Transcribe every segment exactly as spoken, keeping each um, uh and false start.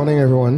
morning, everyone.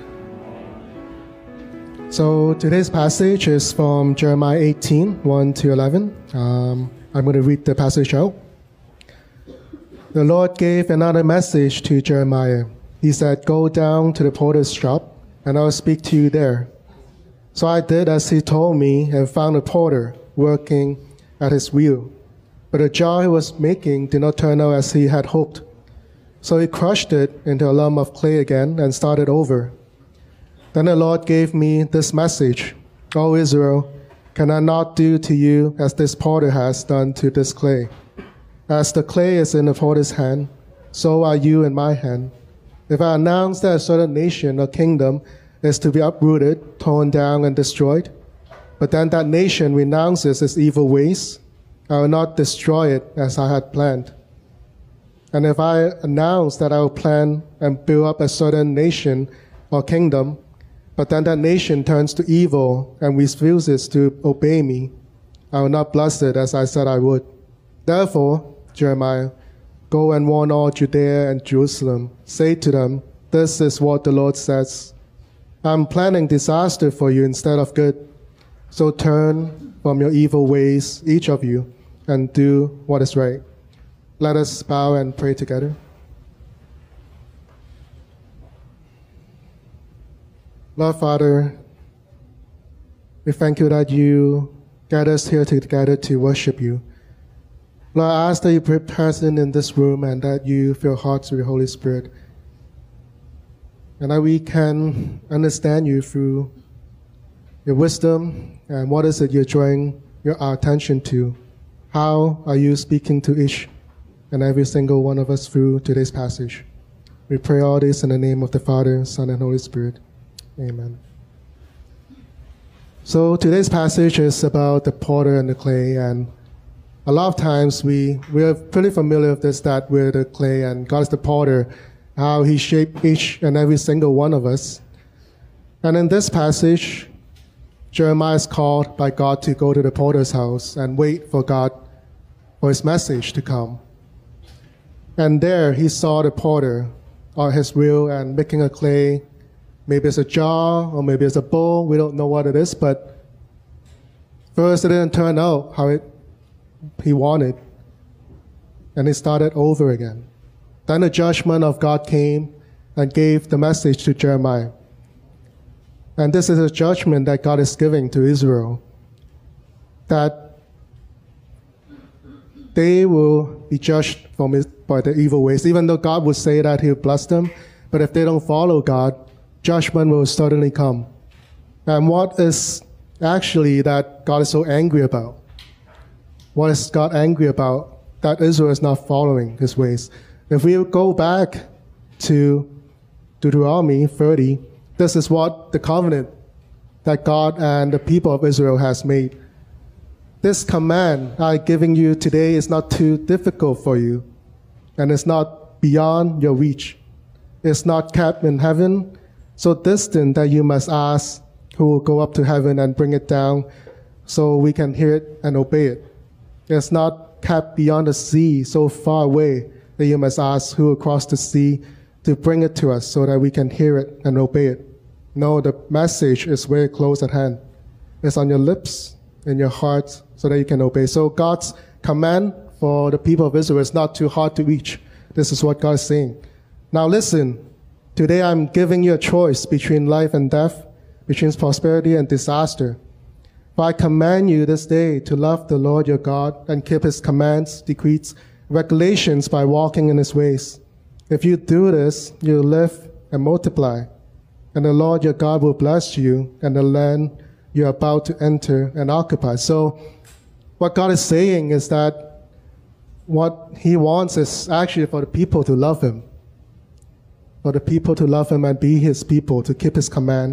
So today's passage is from Jeremiah eighteen, one to eleven. Um, I'm going to read the passage out. The Lord gave another message to Jeremiah. He said, "Go down to the potter's shop, and I will speak to you there." So I did as he told me and found a potter working at his wheel. But the jar he was making did not turn out as he had hoped. So he crushed it into a lump of clay again and started over. Then the Lord gave me this message: "O Israel, can I not do to you as this potter has done to this clay? As the clay is in the potter's hand, so are you in my hand. If I announce that a certain nation or kingdom is to be uprooted, torn down, and destroyed, but then that nation renounces its evil ways, I will not destroy it as I had planned. And if I announce that I will plan and build up a certain nation or kingdom, but then that nation turns to evil and refuses to obey me, I will not bless it as I said I would. Therefore, Jeremiah, go and warn all Judea and Jerusalem. Say to them, this is what the Lord says. I'm planning disaster for you instead of good. So turn from your evil ways, each of you, and do what is right." Let us bow and pray together. Lord Father, we thank you that you get us here together to worship you. Lord, I ask that you be present in this room and that you fill hearts with your Holy Spirit, and that we can understand you through your wisdom and what is it you're drawing your, our attention to. How are you speaking to each and every single one of us through today's passage? We pray all this in the name of the Father, Son, and Holy Spirit. Amen. So today's passage is about the potter and the clay, and a lot of times we, we are pretty familiar with this, that we're the clay and God is the potter, how he shaped each and every single one of us. And in this passage, Jeremiah is called by God to go to the potter's house and wait for God, for his message to come. And there he saw the potter on his wheel and making a clay. Maybe it's a jar or maybe it's a bowl. We don't know what it is, but first it didn't turn out how it, he wanted. And he started over again. Then the judgment of God came and gave the message to Jeremiah. And this is a judgment that God is giving to Israel, that they will be judged from his, by their evil ways. Even though God would say that he will bless them, but if they don't follow God, judgment will certainly come. And what is actually that God is so angry about? What is God angry about? That Israel is not following his ways. If we go back to Deuteronomy thirty, this is what the covenant that God and the people of Israel has made. This command I'm giving you today is not too difficult for you, and it's not beyond your reach. It's not kept in heaven, so distant that you must ask who will go up to heaven and bring it down so we can hear it and obey it. It's not kept beyond the sea, so far away that you must ask who will cross the sea to bring it to us so that we can hear it and obey it. No, the message is very close at hand. It's on your lips, in your heart, so that you can obey. So God's command for the people of Israel is not too hard to reach. This is what God is saying. Now listen, today I'm giving you a choice between life and death, between prosperity and disaster. For I command you this day to love the Lord your God and keep his commands, decrees, regulations by walking in his ways. If you do this, you'll live and multiply, and the Lord your God will bless you and the land you're about to enter and occupy. So what God is saying is that what he wants is actually for the people to love him, for the people to love him and be his people, to keep his command.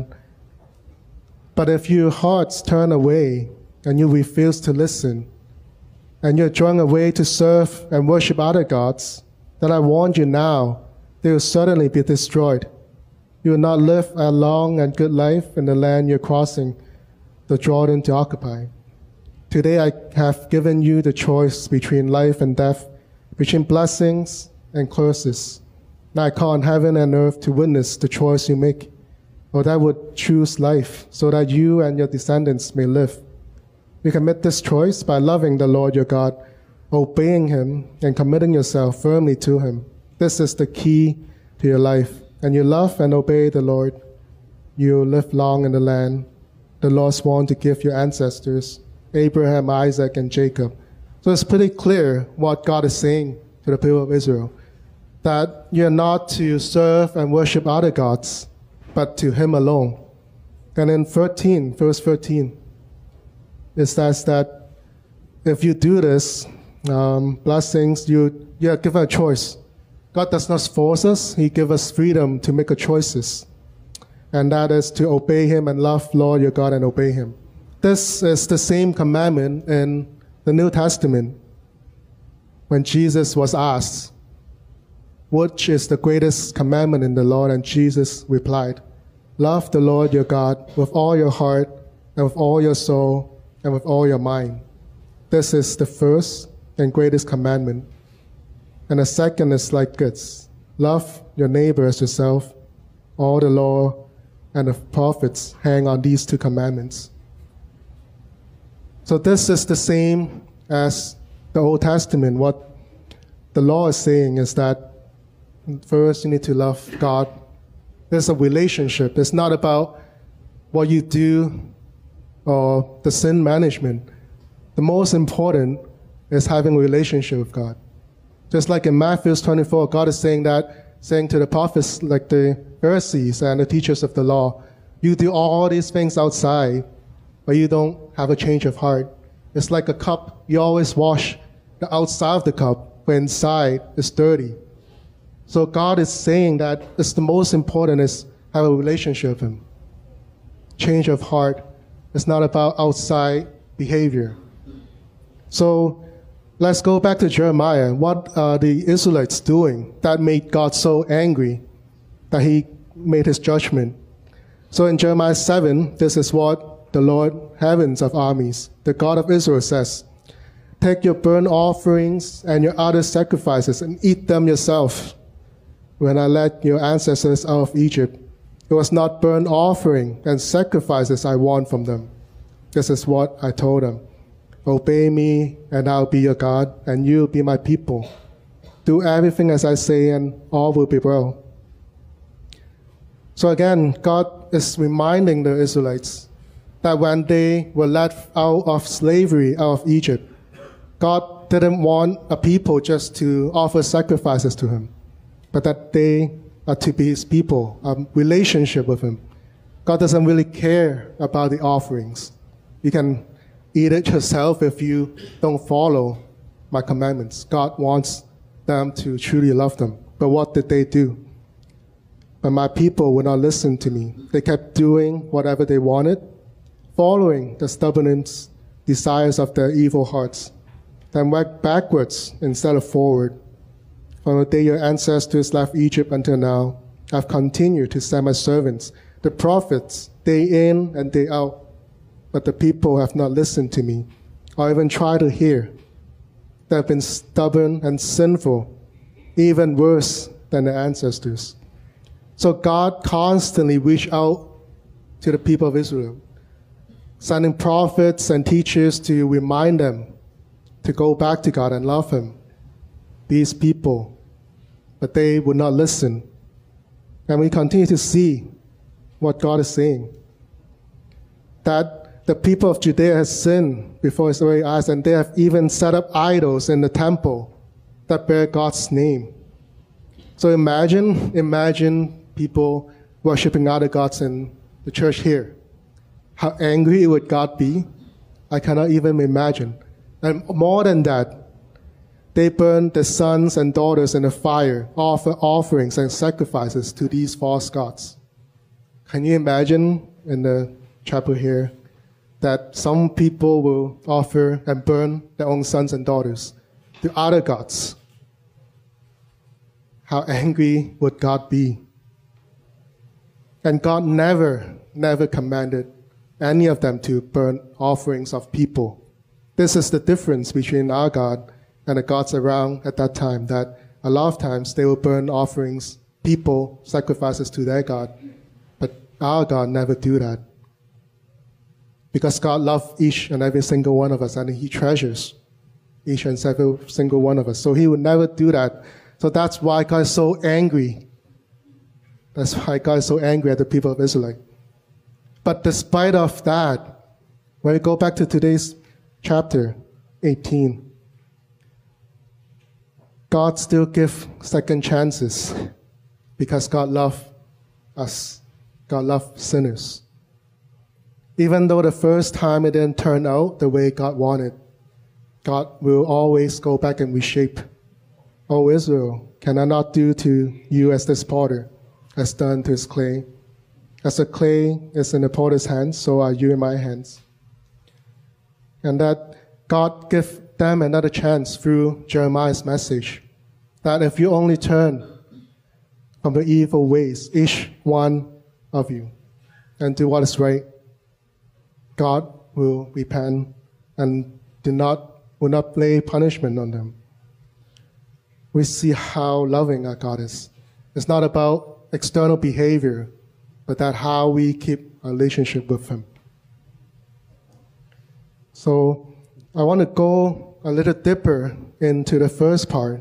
But if your hearts turn away and you refuse to listen, and you're drawn away to serve and worship other gods, then I warn you now, they will certainly be destroyed. You will not live a long and good life in the land you're crossing the Jordan to occupy. Today I have given you the choice between life and death, between blessings and curses. And I call on heaven and earth to witness the choice you make, or that would choose life, so that you and your descendants may live. You can make this choice by loving the Lord your God, obeying Him, and committing yourself firmly to Him. This is the key to your life. And you love and obey the Lord, you live long in the land the Lord swore to give your ancestors, Abraham, Isaac, and Jacob. So it's pretty clear what God is saying to the people of Israel, that you're not to serve and worship other gods, but to Him alone. And in thirteen, verse thirteen, it says that if you do this, um, blessings, you, you are given a choice. God does not force us. He gives us freedom to make a choices. And that is to obey Him and love Lord your God and obey Him. This is the same commandment in the New Testament when Jesus was asked, which is the greatest commandment in the Lord? And Jesus replied, love the Lord your God with all your heart and with all your soul and with all your mind. This is the first and greatest commandment. And the second is like this: love your neighbor as yourself. All the law and the prophets hang on these two commandments. So this is the same as the Old Testament. What the law is saying is that first you need to love God. There's a relationship. It's not about what you do or the sin management. The most important is having a relationship with God. Just like in Matthew twenty-four, God is saying that, saying to the prophets like the Pharisees and the teachers of the law, you do all these things outside, but you don't have a change of heart. It's like a cup. You always wash the outside of the cup, but inside is dirty. So God is saying that it's the most important is have a relationship with Him. Change of heart. It's not about outside behavior. So let's go back to Jeremiah. What are the Israelites doing that made God so angry that He made His judgment? So in Jeremiah seven, this is what the Lord, heavens of armies, the God of Israel says, take your burnt offerings and your other sacrifices and eat them yourself. When I led your ancestors out of Egypt, it was not burnt offering and sacrifices I want from them. This is what I told them. Obey me, and I'll be your God, and you'll be my people. Do everything as I say, and all will be well. So again, God is reminding the Israelites that when they were led out of slavery, out of Egypt, God didn't want a people just to offer sacrifices to Him, but that they are to be His people, a relationship with Him. God doesn't really care about the offerings. You can eat it yourself if you don't follow my commandments. God wants them to truly love them. But what did they do? But my people would not listen to me. They kept doing whatever they wanted, following the stubborn desires of their evil hearts. Then went backwards instead of forward. From the day your ancestors left Egypt until now, I've continued to send my servants, the prophets, day in and day out. But the people have not listened to me, or even tried to hear. They have been stubborn and sinful, even worse than their ancestors. So God constantly reached out to the people of Israel, sending prophets and teachers to remind them to go back to God and love Him, these people. But they would not listen. And we continue to see what God is saying. That the people of Judea has sinned before His very eyes, and they have even set up idols in the temple that bear God's name. So imagine, imagine people worshiping other gods in the church here. How angry would God be? I cannot even imagine. And more than that, they burn their sons and daughters in the fire, offer offerings and sacrifices to these false gods. Can you imagine in the chapel here that some people will offer and burn their own sons and daughters to other gods? How angry would God be? And God never, never commanded any of them to burn offerings of people. This is the difference between our God and the gods around at that time, that a lot of times they will burn offerings, people, sacrifices to their God. But our God never do that. Because God loves each and every single one of us, and He treasures each and every single one of us. So He would never do that. So that's why God is so angry. That's why God is so angry at the people of Israel. But despite of that, when we go back to today's chapter eighteen, God still gives second chances because God loves us. God loves sinners. Even though the first time it didn't turn out the way God wanted, God will always go back and reshape. O Israel, can I not do to you as this potter has done to his clay? As the clay is in the potter's hands, so are you in my hands. And that God give them another chance through Jeremiah's message, that if you only turn from the evil ways, each one of you, and do what is right, God will repent and do not, will not lay punishment on them. We see how loving our God is. It's not about external behavior, but that how we keep a relationship with Him. So I want to go a little deeper into the first part.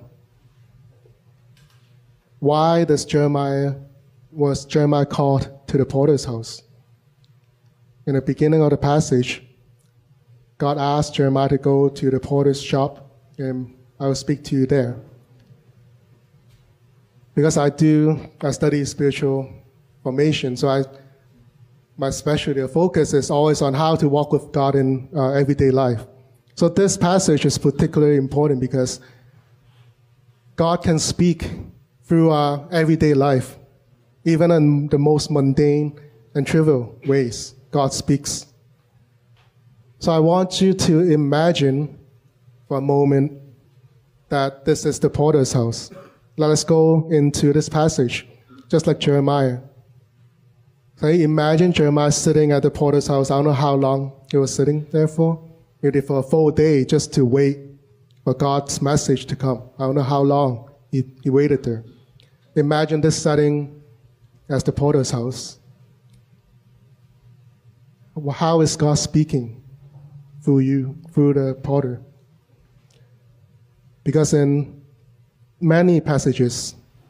Why does Jeremiah, was Jeremiah called to the potter's house? In the beginning of the passage, God asked Jeremiah to go to the potter's shop, and I will speak to you there. Because I do, I study spiritual formation, so I, my specialty or focus is always on how to walk with God in uh, everyday life. So this passage is particularly important because God can speak through our everyday life, even in the most mundane and trivial ways. God speaks. So I want you to imagine for a moment that this is the potter's house. Let us go into this passage, just like Jeremiah. So imagine Jeremiah sitting at the potter's house. I don't know how long he was sitting there for. Maybe for a full day just to wait for God's message to come. I don't know how long he, he waited there. Imagine this setting as the potter's house. How is God speaking through you, through the potter? Because in many passages,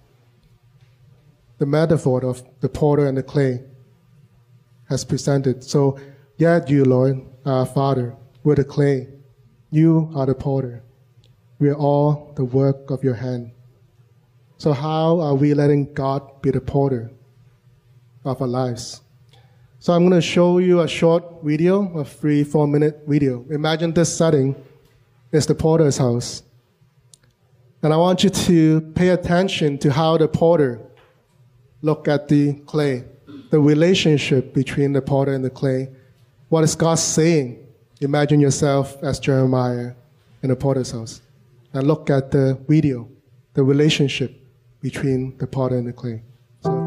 the metaphor of the potter and the clay has presented. So, yet you, Lord, our Father, we're the clay. You are the potter. We are all the work of your hand. So how are we letting God be the potter of our lives? So I'm going to show you a short video, a three, four minute video. Imagine this setting is the potter's house. And I want you to pay attention to how the potter look at the clay, the relationship between the potter and the clay. What is God saying? Imagine yourself as Jeremiah in the potter's house. And look at the video, the relationship between the potter and the clay. So,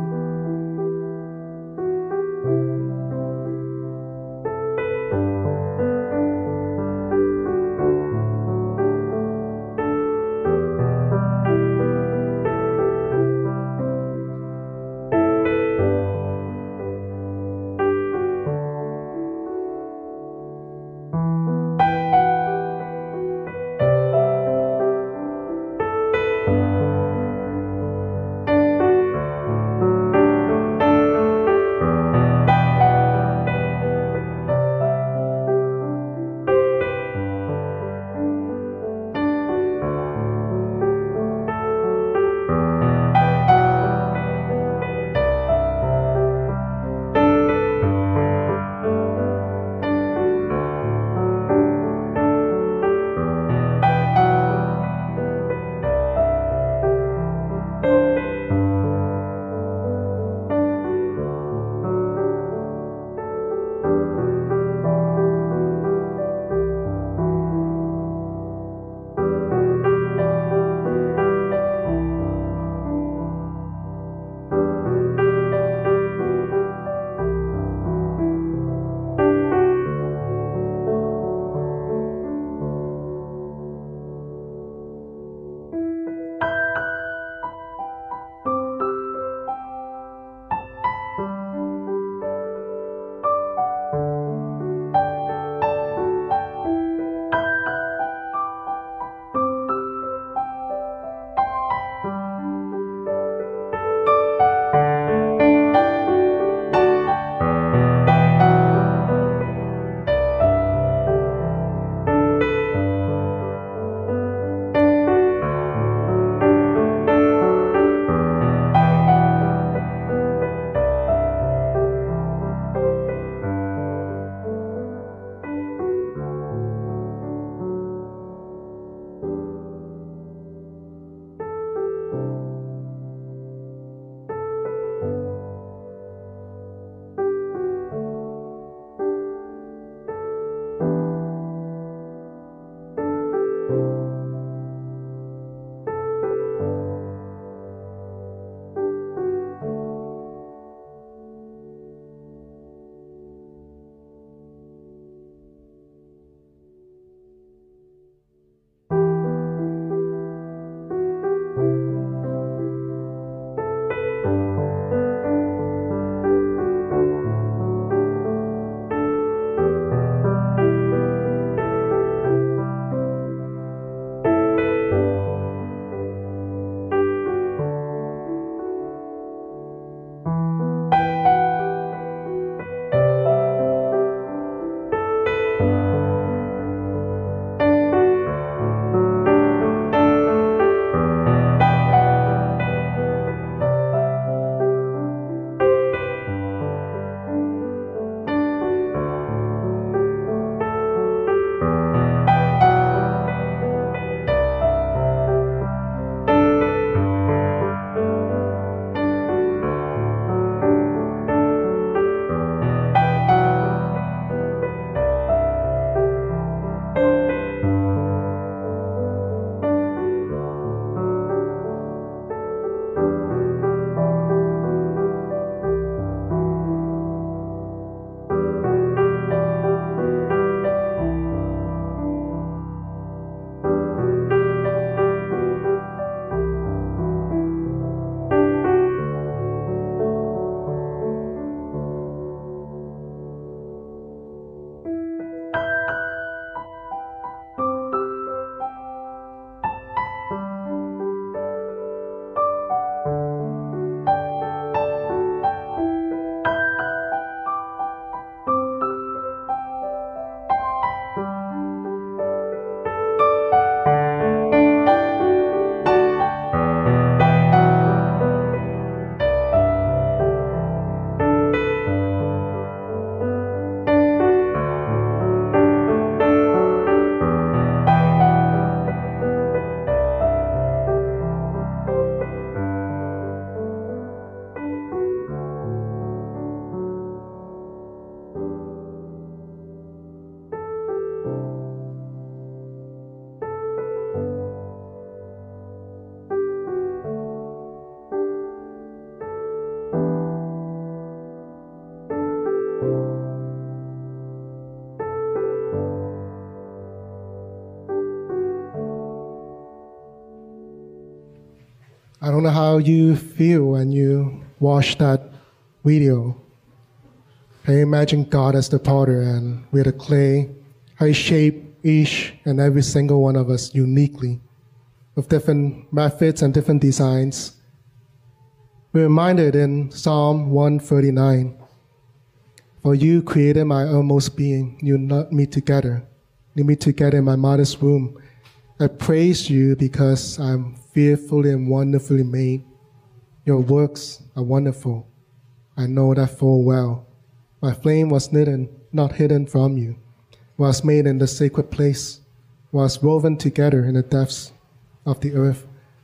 I don't know how you feel when you watch that video. Can you imagine God as the potter and we're the clay? How He shaped each and every single one of us uniquely with different methods and different designs. We're reminded in Psalm one thirty-nine, "For you created my utmost being, you knit me together. You knit me together in my mother's womb. I praise you because I'm fearfully and wonderfully made. Your works are wonderful. I know that full well. My flame was hidden, not hidden from you, was made in the sacred place, was woven together in the depths of the earth."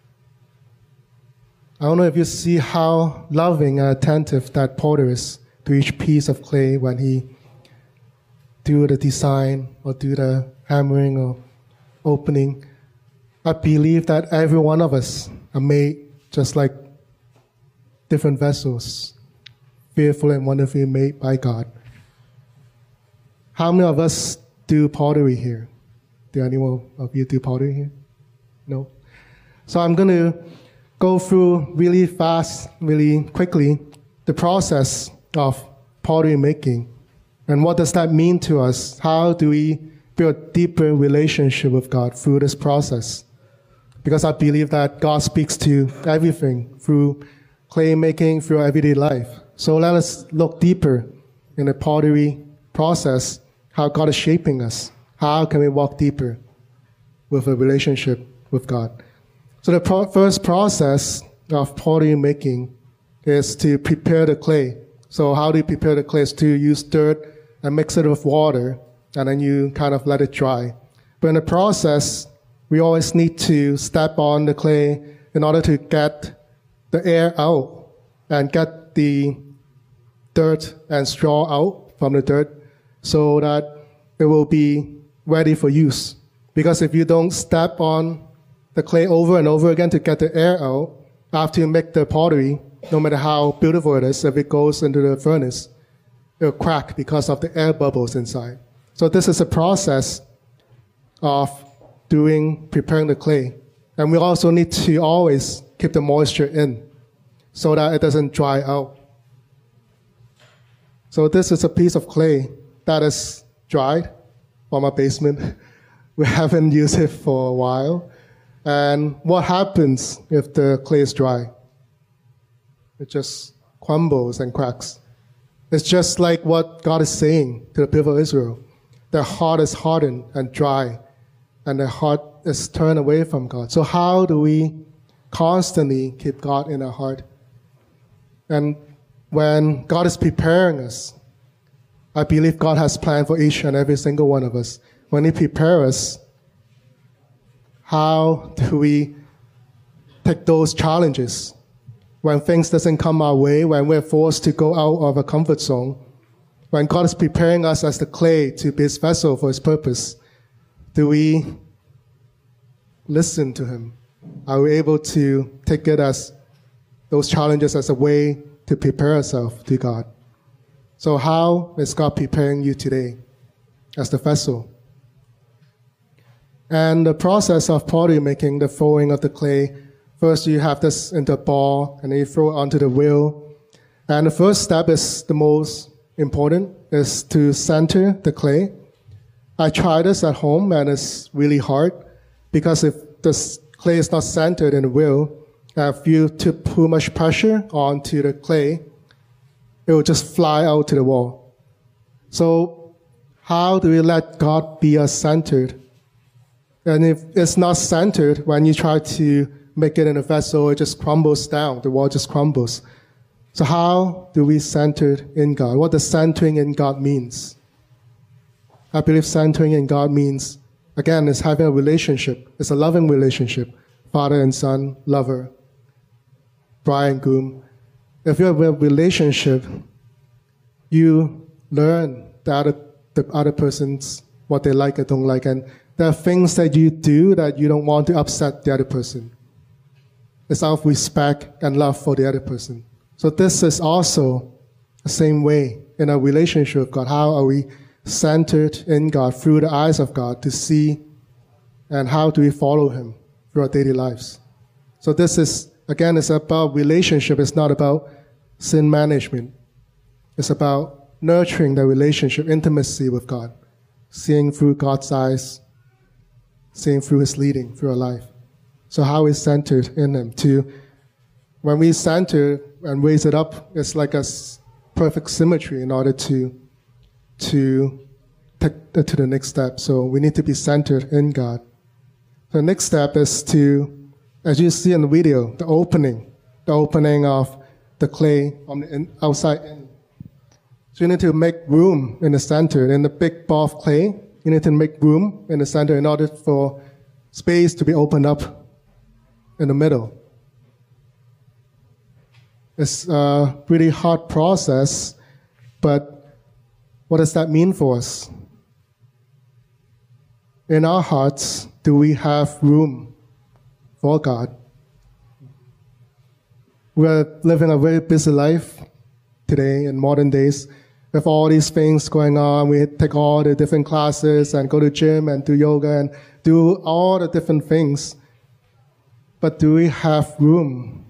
I don't know if you see how loving and attentive that potter is to each piece of clay when he do the design or do the hammering or opening. I believe that every one of us are made just like different vessels, fearfully and wonderfully made by God. How many of us do pottery here? Do anyone of you do pottery here? No? So I'm going to go through really fast, really quickly, the process of pottery making. And what does that mean to us? How do we build a deeper relationship with God through this process? Because I believe that God speaks to everything through clay making, through everyday life. So let us look deeper in the pottery process, how God is shaping us. How can we walk deeper with a relationship with God? So the pro- first process of pottery making is to prepare the clay. So how do you prepare the clay? Is to use dirt and mix it with water, and then you kind of let it dry. But in the process, we always need to step on the clay in order to get the air out and get the dirt and straw out from the dirt so that it will be ready for use. Because if you don't step on the clay over and over again to get the air out, after you make the pottery, no matter how beautiful it is, if it goes into the furnace, it'll crack because of the air bubbles inside. So this is a process of doing, preparing the clay. And we also need to always keep the moisture in so that it doesn't dry out. So this is a piece of clay that is dried from our basement. We haven't used it for a while. And what happens if the clay is dry? It just crumbles and cracks. It's just like what God is saying to the people of Israel. Their heart is hardened and dry, and their heart is turned away from God. So how do we constantly keep God in our heart? And when God is preparing us, I believe God has planned for each and every single one of us. When He prepares us, how do we take those challenges? When things doesn't come our way, when we're forced to go out of a comfort zone, when God is preparing us as the clay to be His vessel for His purpose, do we listen to Him? Are we able to take it as those challenges as a way to prepare ourselves to God? So how is God preparing you today as the vessel? And the process of pottery making, the throwing of the clay, first you have this into a ball, and then you throw it onto the wheel. And the first step is the most important, is to center the clay. I tried this at home, and it's really hard, because if the clay is not centered in the wheel, if you put too much pressure onto the clay, it will just fly out to the wall. So how do we let God be us centered? And if it's not centered, when you try to make it in a vessel, it just crumbles down. The wall just crumbles. So how do we center in God? What does centering in God means? I believe centering in God means, again, it's having a relationship. It's a loving relationship. Father and son, lover, bride and groom. If you have a relationship, you learn the other, the other person's, what they like and don't like. And there are things that you do that you don't want to upset the other person. It's out of respect and love for the other person. So this is also the same way in our relationship with God. How are we centered in God through the eyes of God to see, and how do we follow Him through our daily lives? So this is again, it's about relationship. It's not about sin management. It's about nurturing the relationship, intimacy with God, seeing through God's eyes, seeing through His leading through our life. So how is centered in Him? To when we center and raise it up, it's like a perfect symmetry in order to to take it to the next step. So we need to be centered in God. The next step is to, as you see in the video, the opening, the opening of the clay on the in, outside in. So you need to make room in the center. In the big ball of clay, you need to make room in the center in order for space to be opened up in the middle. It's a pretty hard process, but what does that mean for us? In our hearts, do we have room for God? We're living a very busy life today in modern days with all these things going on. We take all the different classes and go to gym and do yoga and do all the different things. But do we have room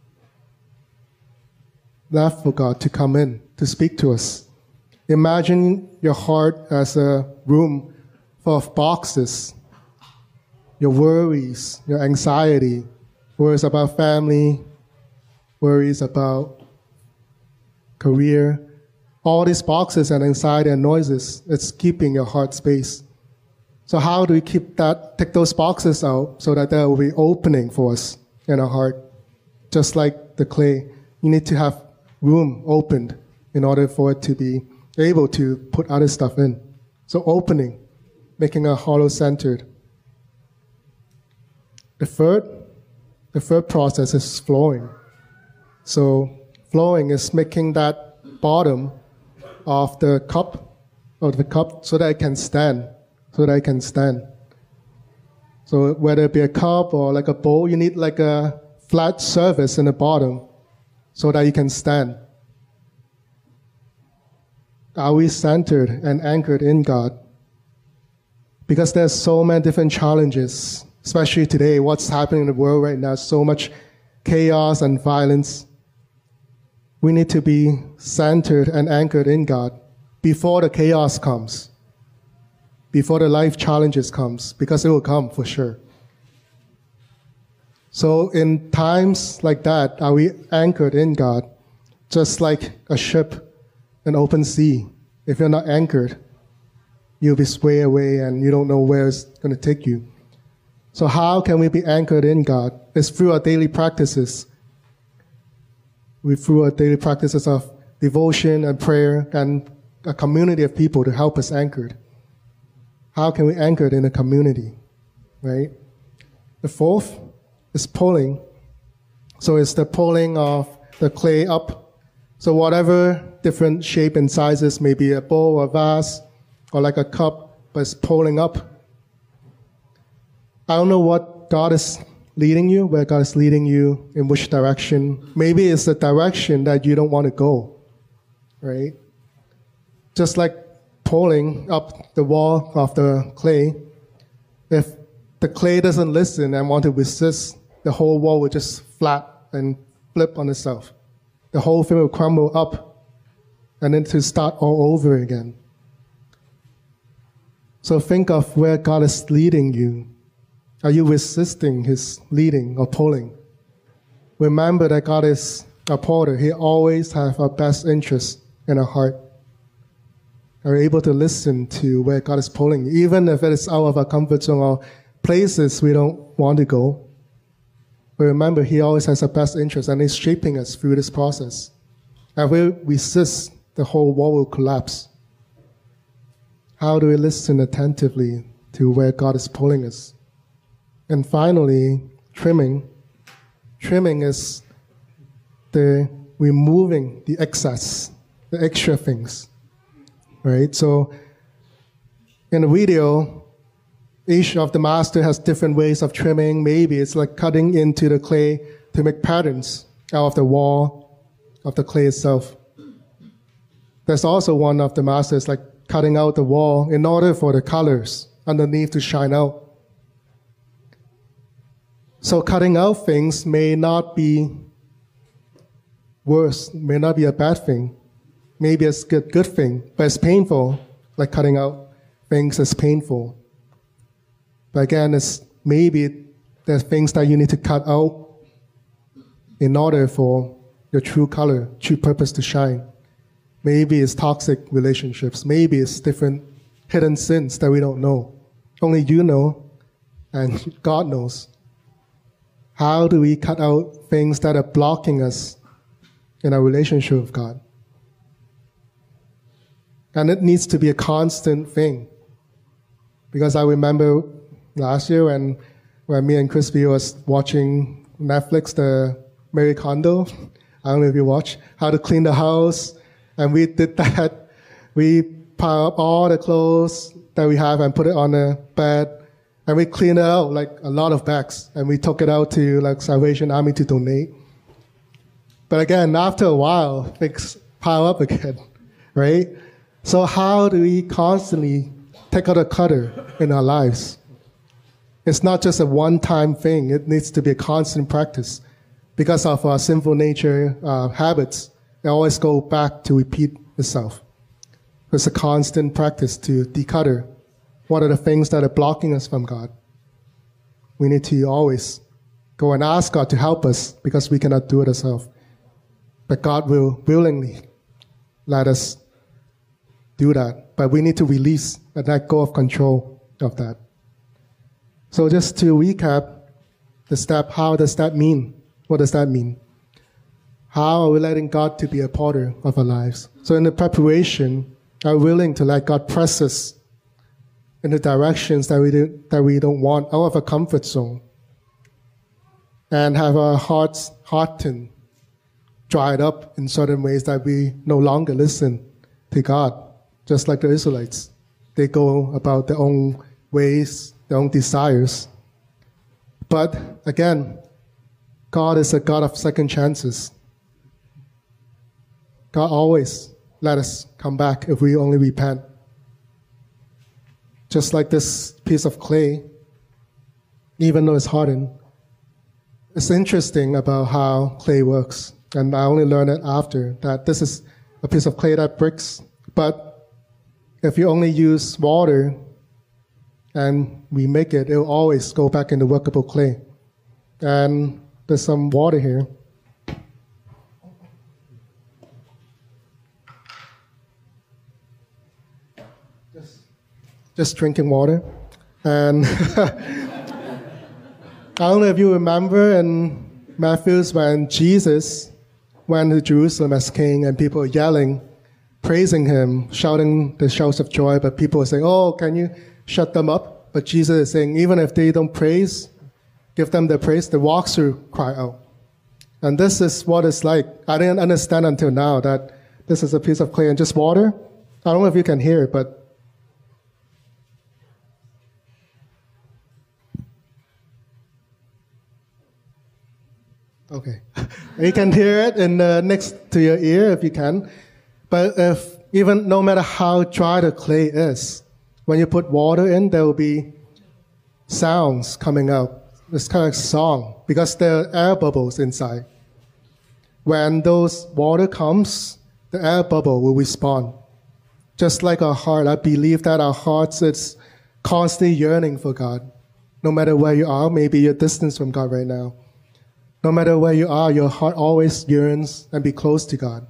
left for God to come in, to speak to us? Imagine your heart as a room full of boxes. Your worries, your anxiety, worries about family, worries about career, all these boxes and anxiety and noises, it's keeping your heart space. So how do we keep that, take those boxes out so that there will be opening for us in our heart? Just like the clay, you need to have room opened in order for it to be able to put other stuff in. So opening, making a hollow centered. The third, the third process is flowing. So flowing is making that bottom of the cup, of the cup, so that it can stand, so that it can stand. So whether it be a cup or like a bowl, you need like a flat surface in the bottom so that you can stand. Are we centered and anchored in God? Because there's so many different challenges, especially today, what's happening in the world right now, so much chaos and violence. We need to be centered and anchored in God before the chaos comes, before the life challenges comes, because it will come for sure. So in times like that, are we anchored in God? Just like a ship in open sea. If you're not anchored, you'll be swayed away and you don't know where it's going to take you. So how can we be anchored in God? It's through our daily practices. We through our daily practices of devotion and prayer and a community of people to help us anchored. How can we anchor in a community, right? The fourth is pulling. So it's the pulling of the clay up. So whatever different shape and sizes, maybe a bowl or vase or like a cup, but it's pulling up. I don't know what God is leading you, where God is leading you, in which direction. Maybe it's the direction that you don't want to go, right? Just like pulling up the wall of the clay, if the clay doesn't listen and want to resist, the whole wall will just flat and flip on itself. The whole thing will crumble up and then to start all over again. So think of where God is leading you. Are you resisting His leading or pulling? Remember that God is a potter. He always has our best interest in our heart. Are we able to listen to where God is pulling, even if it is out of our comfort zone or places we don't want to go? But remember, He always has our best interest and He's shaping us through this process. And if we resist, the whole wall will collapse. How do we listen attentively to where God is pulling us? And finally, trimming. Trimming is the removing the excess, the extra things, right? So in the video, each of the master has different ways of trimming. Maybe it's like cutting into the clay to make patterns out of the wall of the clay itself. There's also one of the masters like cutting out the wall in order for the colors underneath to shine out. So cutting out things may not be worse, may not be a bad thing. Maybe it's a good, good thing, but it's painful. Like cutting out things is painful. But again, it's maybe there's things that you need to cut out in order for your true color, true purpose to shine. Maybe it's toxic relationships. Maybe it's different hidden sins that we don't know. Only you know, and God knows. How do we cut out things that are blocking us in our relationship with God? And it needs to be a constant thing. Because I remember last year when, when me and Crispy was watching Netflix, the Marie Kondo, I don't know if you watch, How to Clean the House. And we did that. We pile up all the clothes that we have and put it on the bed. And we cleaned it out, like a lot of bags. And we took it out to like Salvation Army to donate. But again, after a while, things pile up again, right? So how do we constantly take out a cutter in our lives? It's not just a one-time thing. It needs to be a constant practice. Because of our sinful nature uh, habits, they always go back to repeat itself. It's a constant practice to declutter. What are the things that are blocking us from God? We need to always go and ask God to help us because we cannot do it ourselves. But God will willingly let us do that. But we need to release and let go of control of that. So just to recap the step, how does that mean? What does that mean? How are we letting God to be a potter of our lives? So in the preparation, are we willing to let God press us in the directions that we, do, that we don't want, out of a comfort zone, and have our hearts hardened, dried up in certain ways that we no longer listen to God, just like the Israelites. They go about their own ways, their own desires. But again, God is a God of second chances. God always let us come back if we only repent. Just like this piece of clay, even though it's hardened, it's interesting about how clay works. And I only learned it after, that this is a piece of clay that breaks. But if you only use water and we make it, it will always go back into workable clay. And there's some water here. Just, just drinking water. And I don't know if you remember in Matthew's when Jesus went to Jerusalem as king and people were yelling, praising him, shouting the shouts of joy, but people were saying, oh, can you shut them up? But Jesus is saying, even if they don't praise, give them the praise, the rocks will cry out. And this is what it's like. I didn't understand until now that this is a piece of clay and just water. I don't know if you can hear it, but okay. You can hear it in the next to your ear if you can. But if even no matter how dry the clay is, when you put water in, there will be sounds coming out. It's kind of like song because there are air bubbles inside. When those water comes, the air bubble will respond. Just like our heart, I believe that our hearts is constantly yearning for God. No matter where you are, maybe you're distant from God right now. No matter where you are, your heart always yearns and be close to God.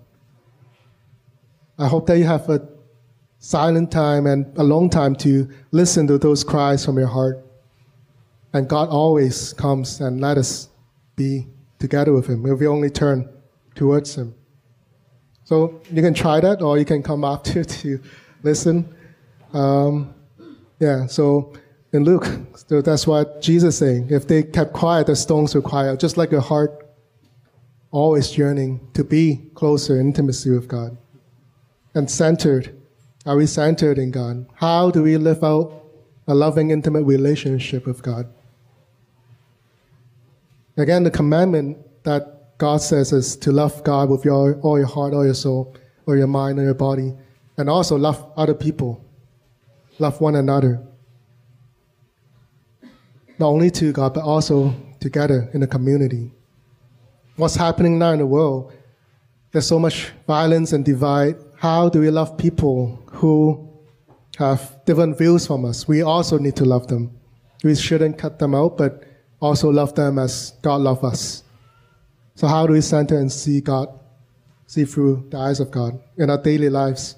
I hope that you have a silent time and a long time to listen to those cries from your heart. And God always comes and let us be together with him if we only turn towards him. So you can try that, or you can come after to listen. Um, yeah, so in Luke, so that's what Jesus is saying. If they kept quiet, the stones will cry out, just like your heart always yearning to be closer in intimacy with God. And centered. Are we centered in God? How do we live out a loving, intimate relationship with God? Again, the commandment that God says is to love God with your, all your heart, all your soul, all your mind, and your body, and also love other people, love one another. Not only to God, but also together in a community. What's happening now in the world? There's so much violence and divide. How do we love people who have different views from us? We also need to love them. We shouldn't cut them out, but also love them as God loves us. So how do we center and see God, see through the eyes of God in our daily lives?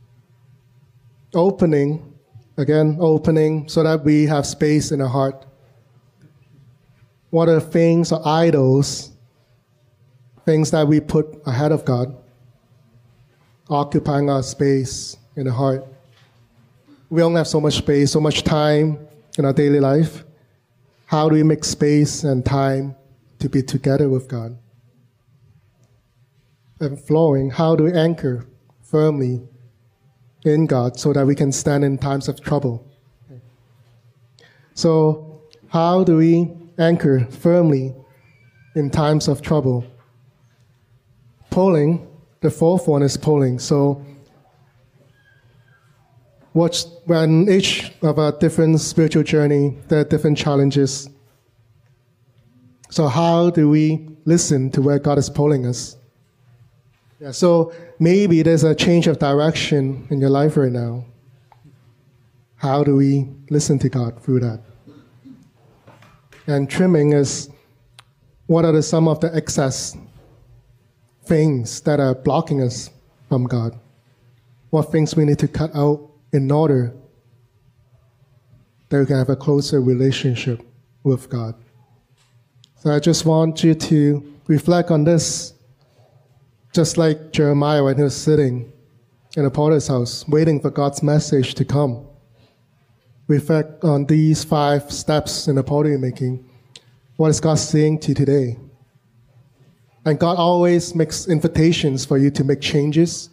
Opening, again, opening so that we have space in our heart. What are things or idols, things that we put ahead of God, occupying our space in the heart? We only have so much space, so much time in our daily life. How do we make space and time to be together with God? And flowing, how do we anchor firmly in God so that we can stand in times of trouble? So how do we anchor firmly in times of trouble? Polling, the fourth one is polling. So what's, when each of our different spiritual journey, there are different challenges. So how do we listen to where God is pulling us? Yeah, so maybe there's a change of direction in your life right now. How do we listen to God through that? And trimming is, what are the, some of the excess things that are blocking us from God? What things we need to cut out in order that we can have a closer relationship with God? So I just want you to reflect on this, just like Jeremiah when he was sitting in the potter's house, waiting for God's message to come. Reflect on these five steps in the pottery making. What is God saying to you today? And God always makes invitations for you to make changes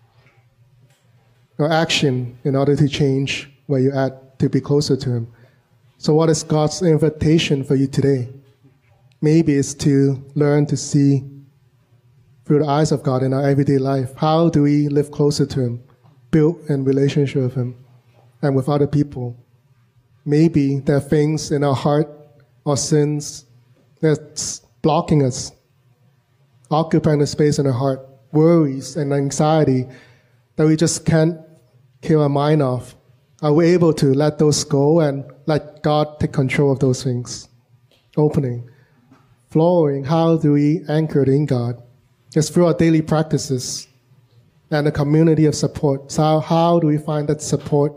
or action in order to change where you're at, to be closer to Him. So what is God's invitation for you today? Maybe it's to learn to see through the eyes of God in our everyday life. How do we live closer to Him, build in relationship with Him and with other people? Maybe there are things in our heart or sins that's blocking us, occupying the space in our heart, worries and anxiety that we just can't kill our mind off. Are we able to let those go and let God take control of those things? Opening, flowing, how do we anchor in God? It's through our daily practices and a community of support. So how do we find that support?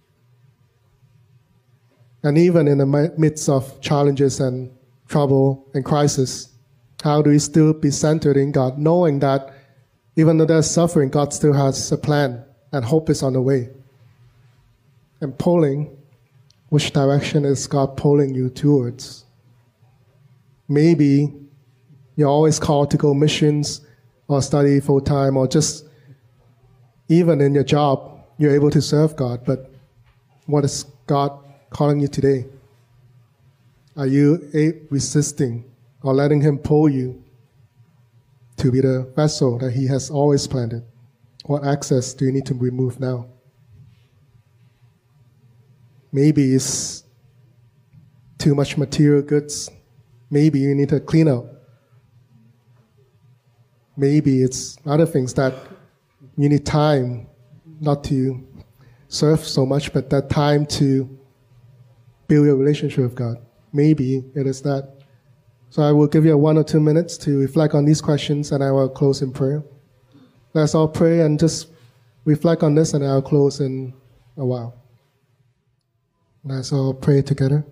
And even in the midst of challenges and trouble and crisis, how do we still be centered in God, knowing that even though there's suffering, God still has a plan and hope is on the way? And pulling, which direction is God pulling you towards? Maybe you're always called to go missions or study full-time, or just even in your job, you're able to serve God. But what is God calling you today? Are you resisting or letting Him pull you to be the vessel that He has always planted? What access do you need to remove now? Maybe it's too much material goods. Maybe you need to clean up. Maybe it's other things that you need time, not to serve so much, but that time to build your relationship with God. Maybe it is that. So I will give you one or two minutes to reflect on these questions, and I will close in prayer. Let's all pray and just reflect on this, and I'll close in a while. Let's all pray together.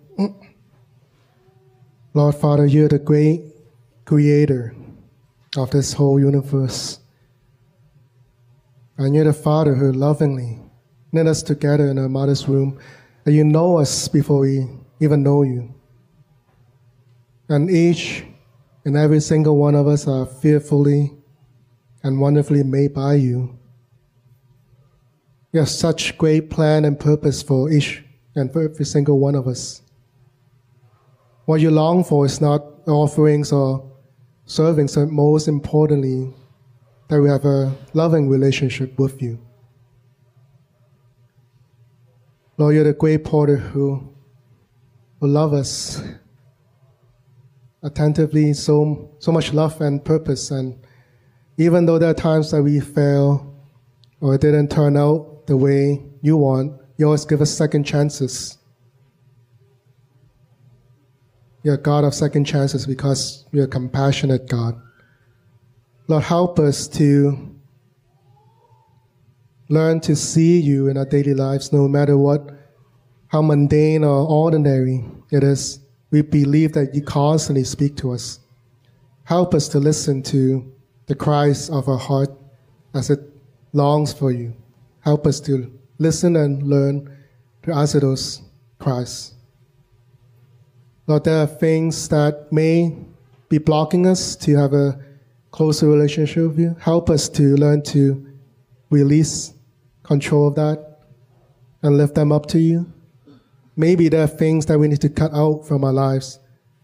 Lord Father, you're the great creator of this whole universe. And you're the Father who lovingly knit us together in our mother's womb. And you know us before we even know you. And each and every single one of us are fearfully and wonderfully made by you. You have such great plan and purpose for each and for every single one of us. What you long for is not offerings or servings, but most importantly, that we have a loving relationship with you. Lord, you're the great potter who, who loves us attentively, so, so much love and purpose. And even though there are times that we fail or it didn't turn out the way you want, you always give us second chances. You're a God of second chances because you're a compassionate God. Lord, help us to learn to see you in our daily lives, no matter what, how mundane or ordinary it is. We believe that you constantly speak to us. Help us to listen to the cries of our heart as it longs for you. Help us to listen and learn to answer those cries. Lord, there are things that may be blocking us to have a closer relationship with you. Help us to learn to release control of that and lift them up to you. Maybe there are things that we need to cut out from our lives.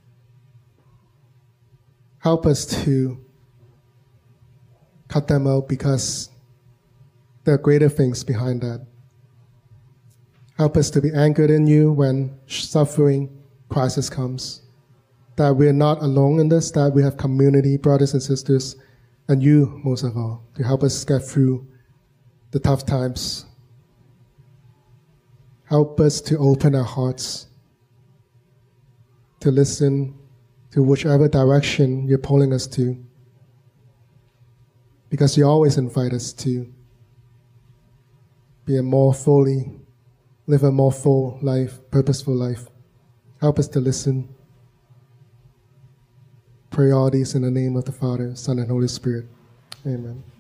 Help us to cut them out because there are greater things behind that. Help us to be anchored in you when suffering, crisis comes. That we're not alone in this, that we have community, brothers and sisters, and you, most of all, to help us get through the tough times. Help us to open our hearts to listen to whichever direction you're pulling us to, because you always invite us to be a more fully, live a more full life, purposeful life. Help us to listen. Pray all these in the name of the Father, Son, and Holy Spirit. Amen.